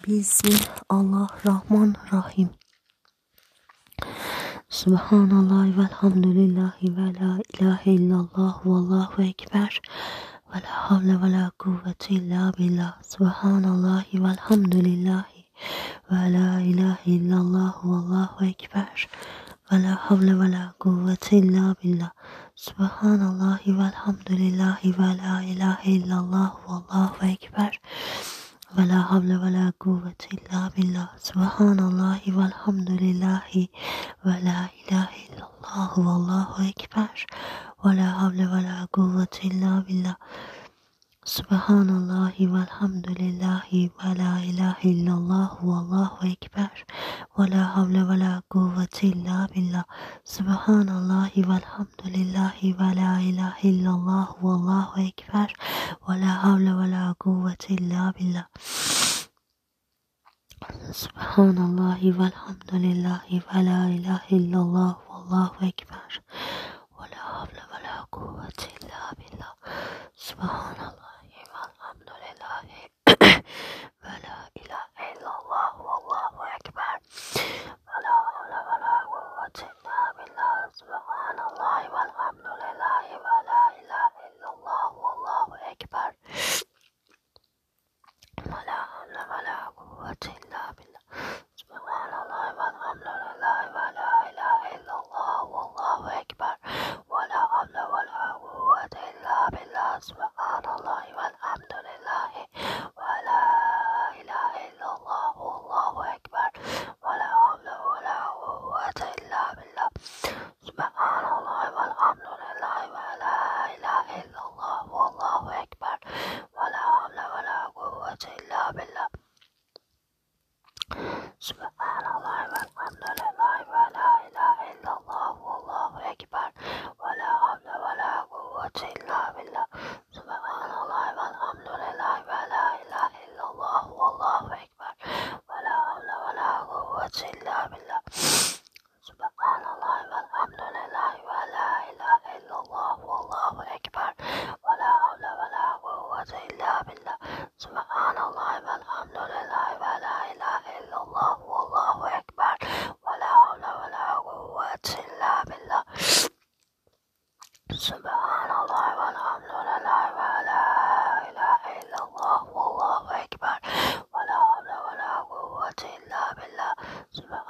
Bismillahirrahmanirrahim. Subhanallah velhamdülillahi ve la ilahe illallah vallahu ekber ve la havle ve la kuvvete illa billah. Subhanallah velhamdülillahi ve la ilahe illallah vallahu ekber ve la havle ve la kuvvete illa billah. Subhanallah velhamdülillahi ve la ilahe illallah vallahu ekber ve la havle ve la kuvvete illa billah. Subhanallahi velhamdülillahi ve la ilahe illallah vallahu ekber ve la havle ve la kuvvete illa billah. Subhanallahi velhamdülillahi ve la ilahe illallah vallahu ekber ve la havle ve la kuvvete illa billah. Subhanallahi velhamdülillahi ve la ilahe illallah vallahu ekber ve la havle ve la kuvvete illa billah. Subhanallahi velhamdülillahi ve la ilahe illallah vallahu ekber ve la havle ve la kuvvete illa billah. Subhanallahi velhamdülillahi ve la ilahe illallah vallahu ekber ve la havle ve la kuvvete illa billah. Subhanallahi velhamdülillahi ve la ilahe illallah vallahu ekber ve la havle ve la kuvvete illa billah. Subhanallahi velhamdülillahi ve la ilahe illallah vallahu ekber ve la havle ve la kuvvete illa billah. Subhanallahi velhamdülillahi ve la ilahe illallah vallahu ekber ve la havle ve la kuvvete illa billah. Subhanallahi velhamdülillahi ve la ilahe illallah vallahu ekber ve la havle ve la kuvvete illa billah. Subhanallahi velhamdülillahi ve la ilahe illallah vallahu ekber ve la havle ve la kuvvete illa billah. Subhanallahi velhamdülillahi ve la ilahe illallah vallahu ekber ve la havle ve la kuvvete illa billah. Subhanallahi velhamdülillahi ve la ilahe illallah vallahu ekber ve la havle ve la kuvvete illa billah. Subhanallahi velhamdülillahi ve la ilahe illallah vallahu ekber ve la havle ve la kuvvete illa billah. Subhanallahi velhamdülillahi ve la ilahe illallah vallahu ekber ve la havle ve la kuvvete illa billah.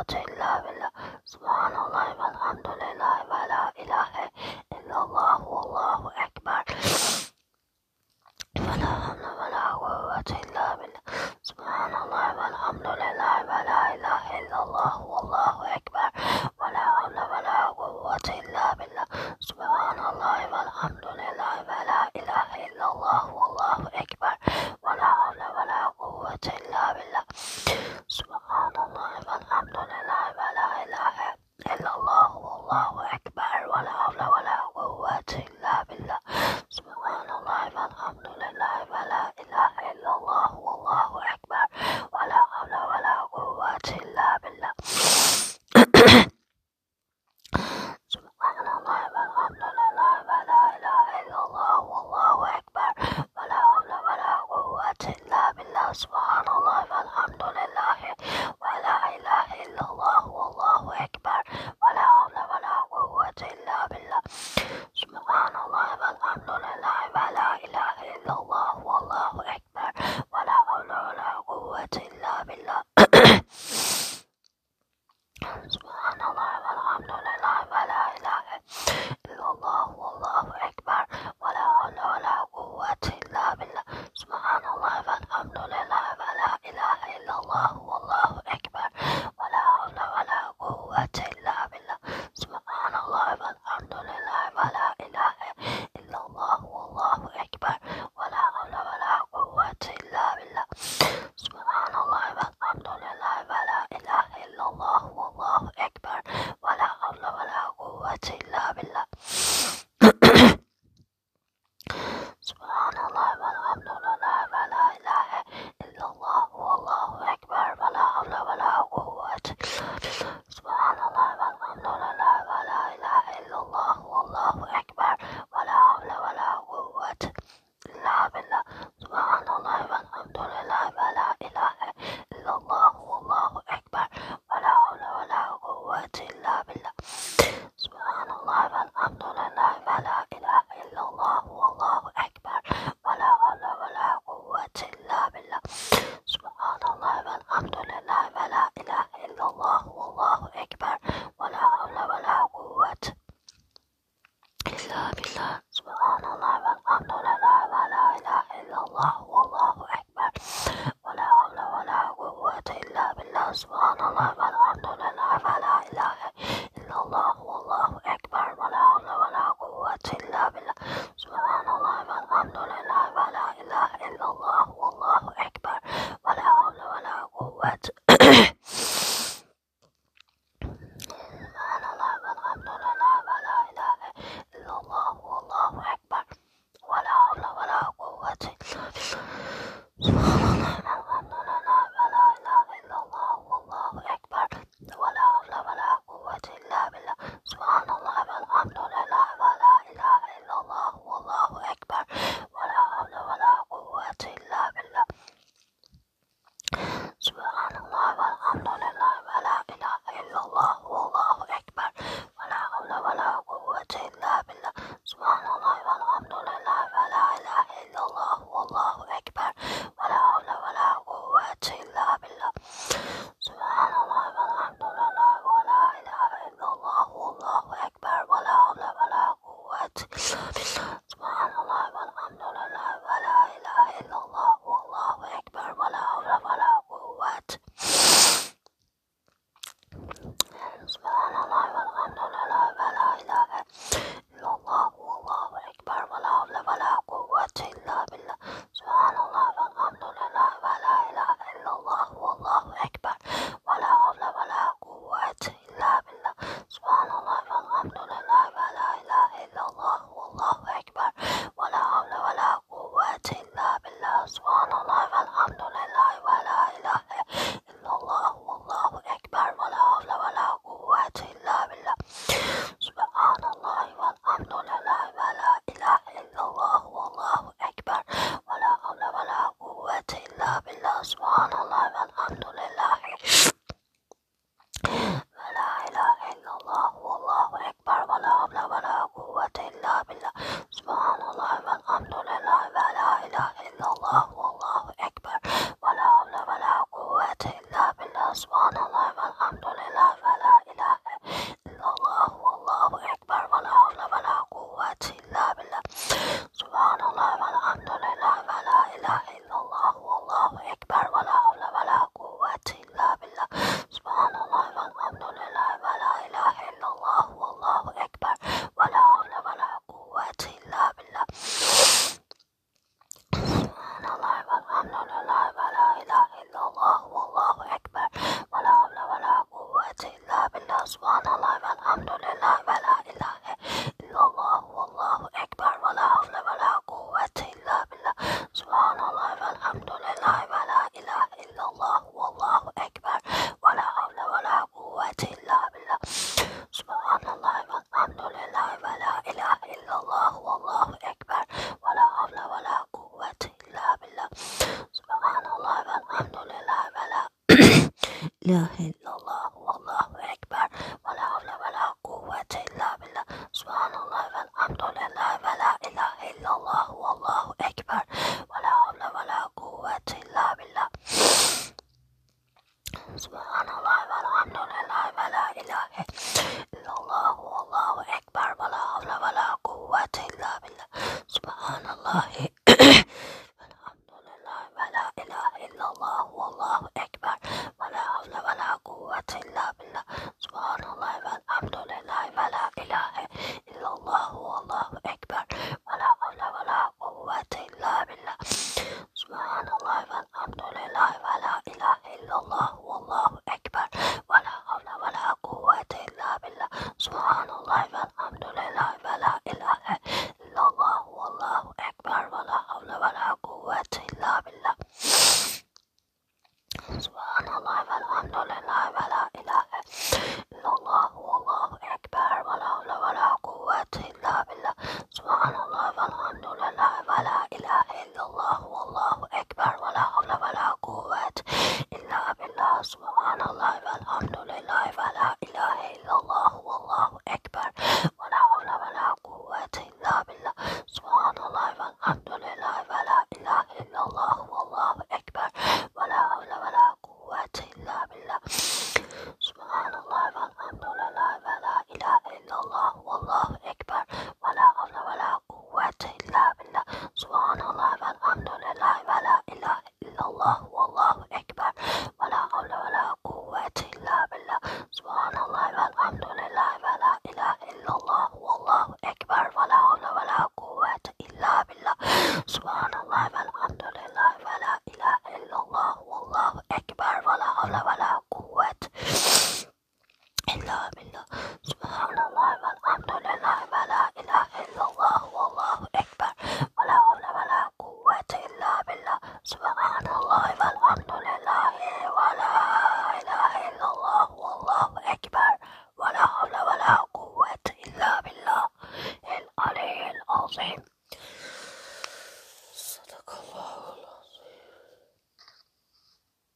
quwwata illa billah. Subhanallah walhamdulillah wa la ilaha illallah wallahu akbar. ولا حول ولا قوة إلا بالله. سبحان الله والحمد لله ولا إله إلا الله والله أكبر. ولا حول ولا قوة إلا بالله. سبحان الله والحمد لله ولا إله إلا الله والله أكبر. ولا حول ولا قوة إلا بالله. سبحان الله والحمد لله ولا إله إلا الله والله أكبر. ولا حول ولا قوة إلا بالله. سبحان الله والحمد لله ولا إله إلا الله والله أكبر. ولا حول ولا قوة إلا بالله. سبحان الله والحمد لله ولا إله إلا الله والله أكبر. ولا حول ولا قوة إلا بالله. سبحان الله والحمد لله ولا إله إلا الله والله أكبر. ولا حول ولا قوة إلا بالله. سبحان الله والحمد لله ولا إله إلا الله والله أكبر. ولا حول ولا قوة إلا بالله. سبحان الله والحمد لله ولا إله إلا الله والله أكبر. ولا حول ولا قوة إلا بالله. سبحان الله والحمد لله ولا إله إلا الله والله أكبر. ولا حول ولا قوة إلا بالله. سبحان الله والحمد لله ولا إله إلا الله والله أكبر. ولا حول ولا قوة إلا بالله. سبحان الله والحمد لله ولا إله إلا الله والله أكبر. ولا حول ولا قوة إلا بالله. سبحان الله والحمد لله ولا إله إلا الله والله أكبر. ولا حول ولا قوة إلا بالله. سبحان الله والحمد لله ولا إله إلا الله والله أكبر. ولا حول ولا قوة إلا بالله. سبحان الله والحمد لله ولا إله إلا الله والله أكبر. ولا حول ولا قوة إلا بالله. سبحان الله والحمد لله ولا إله إلا الله والله أكبر. ولا حول ولا قوة إلا بالله. سبحان الله والحمد لله ولا إله إلا الله والله أكبر. ولا حول ولا قوة إلا بالله. سبحان الله والحمد لله ولا إله إلا الله والله أكبر. ولا حول ولا قوة إلا بالله. سبحان الله والحمد لله ولا إله إلا الله والله أكبر. ولا حول ولا قوة إلا بالله. سبحان الله والحمد لله ولا إله إلا الله والله أكبر. ولا حول ولا قوة سبحان الله والحمد لله ولا إله إلا الله والله أكبر. ولا حول ولا قوة إلا بالله. سبحان الله والحمد لله ولا إله إلا الله والله أكبر. ولا حول ولا قوة إلا بالله. سبحان الله والحمد لله ولا إله إلا الله والله أكبر. ولا حول ولا قوة إلا بالله. سبحان الله والحمد لله ولا إله إلا الله والله أكبر. ولا حول ولا قوة إلا بالله. سبحان الله والحمد لله ولا إله إلا الله والله أكبر. ولا حول ولا قوة إلا بالله. سبحان الله والحمد لله ولا إله إلا الله والله أكبر. ولا حول ولا قوة إلا بالله. سبحان الله والحمد لله ولا إله إلا الله والله أكبر. ولا حول ولا قوة. سبحان الله والحمد لله ولا إله إلا الله والله أكبر. ولا حول ولا قوة إلا بالله. سبحان الله والحمد لله ولا إله إلا الله والله أكبر. ولا حول ولا قوة إلا بالله. سبحان الله والحمد لله ولا إله إلا الله والله أكبر. ولا حول ولا قوة إلا بالله. سبحان الله والحمد لله ولا إله إلا الله والله أكبر. ولا حول ولا قوة إلا بالله. سبحان الله والحمد لله ولا إله إلا الله والله أكبر. ولا حول ولا قوة إلا بالله. سبحان الله والحمد لله ولا إله إلا الله والله أكبر. ولا حول ولا قوة إلا بالله. سبحان الله والحمد لله ولا إله إلا الله والله أكبر. ولا حول ولا قوة إلا بالله. سبحان الله والحمد لله ilahe illallah, vallahu ekber, ve la havle ve la kuvvete illa billah, subhanallah velhamdülillah, ve la ilahe illallah, vallahu ekber, ve la havle ve la kuvvete illa billah, subhanallah velhamdülillah, ve la ilahe illallah, vallahu ekber, ve la havle ve la kuvvete illa billah, subhanallah velhamdülillah, ve la ilahe illallah, vallahu ekber, ve la havle ve la kuvvete illa billah, subhanallah velhamdülillah, ve la ilahe illallah, vallahu ekber, ve la havle ve la kuvvete illa billah, subhanallah velhamdülillah, ve la ilahe illallah, vallahu ekber, ve la havle ve la kuvvete illa billah, subhanallah velhamdülillah, ve la ilahe illallah, vallahu ekber, ve la havle ve la kuvvete illa billah, subhanallah velhamdülillah, ve la ilahe illallah, vallahu ekber, ve la havle ve la kuvvete illa billah, subhanallah velhamdülillah, ve la ilahe illallah, vallahu ekber, ve la havle ve la kuvvete illa billah, subhanallah velhamdülillah, ve la ilahe illallah, vallahu ekber, ve la havle ve la kuvvete illa billah, subhanallah velhamdülillah, ve la ilahe illallah, vallahu ekber, ve la havle ve la kuvvete illa billah, subhanallah velhamdülillah, ve la ilahe illallah, vallahu ekber, ve la havle ve la kuvvete illa billah, subhanallah velhamdülillah, ve la ilahe illallah, vallahu ekber, ve la havle ve la kuvvete illa billah, subhanallah velhamdülillah, ve la ilahe illallah, vallahu ekber, ve la havle ve la kuvvete illa billah, subhanallah velhamdülillah, ve la ilahe illallah, vallahu ekber, ve la havle ve la kuvvete illa billah, subhanallah velhamdülillah, ve la ilahe illallah, vallahu ekber, ve la havle ve la kuvvete illa billah, subhanallah velhamdülillah, ve la ilahe illallah, vallahu ekber, ve la havle ve la kuvvete illa billah el aliyyil azim.